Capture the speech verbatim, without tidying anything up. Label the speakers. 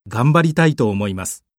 Speaker 1: 頑張りたいと思います。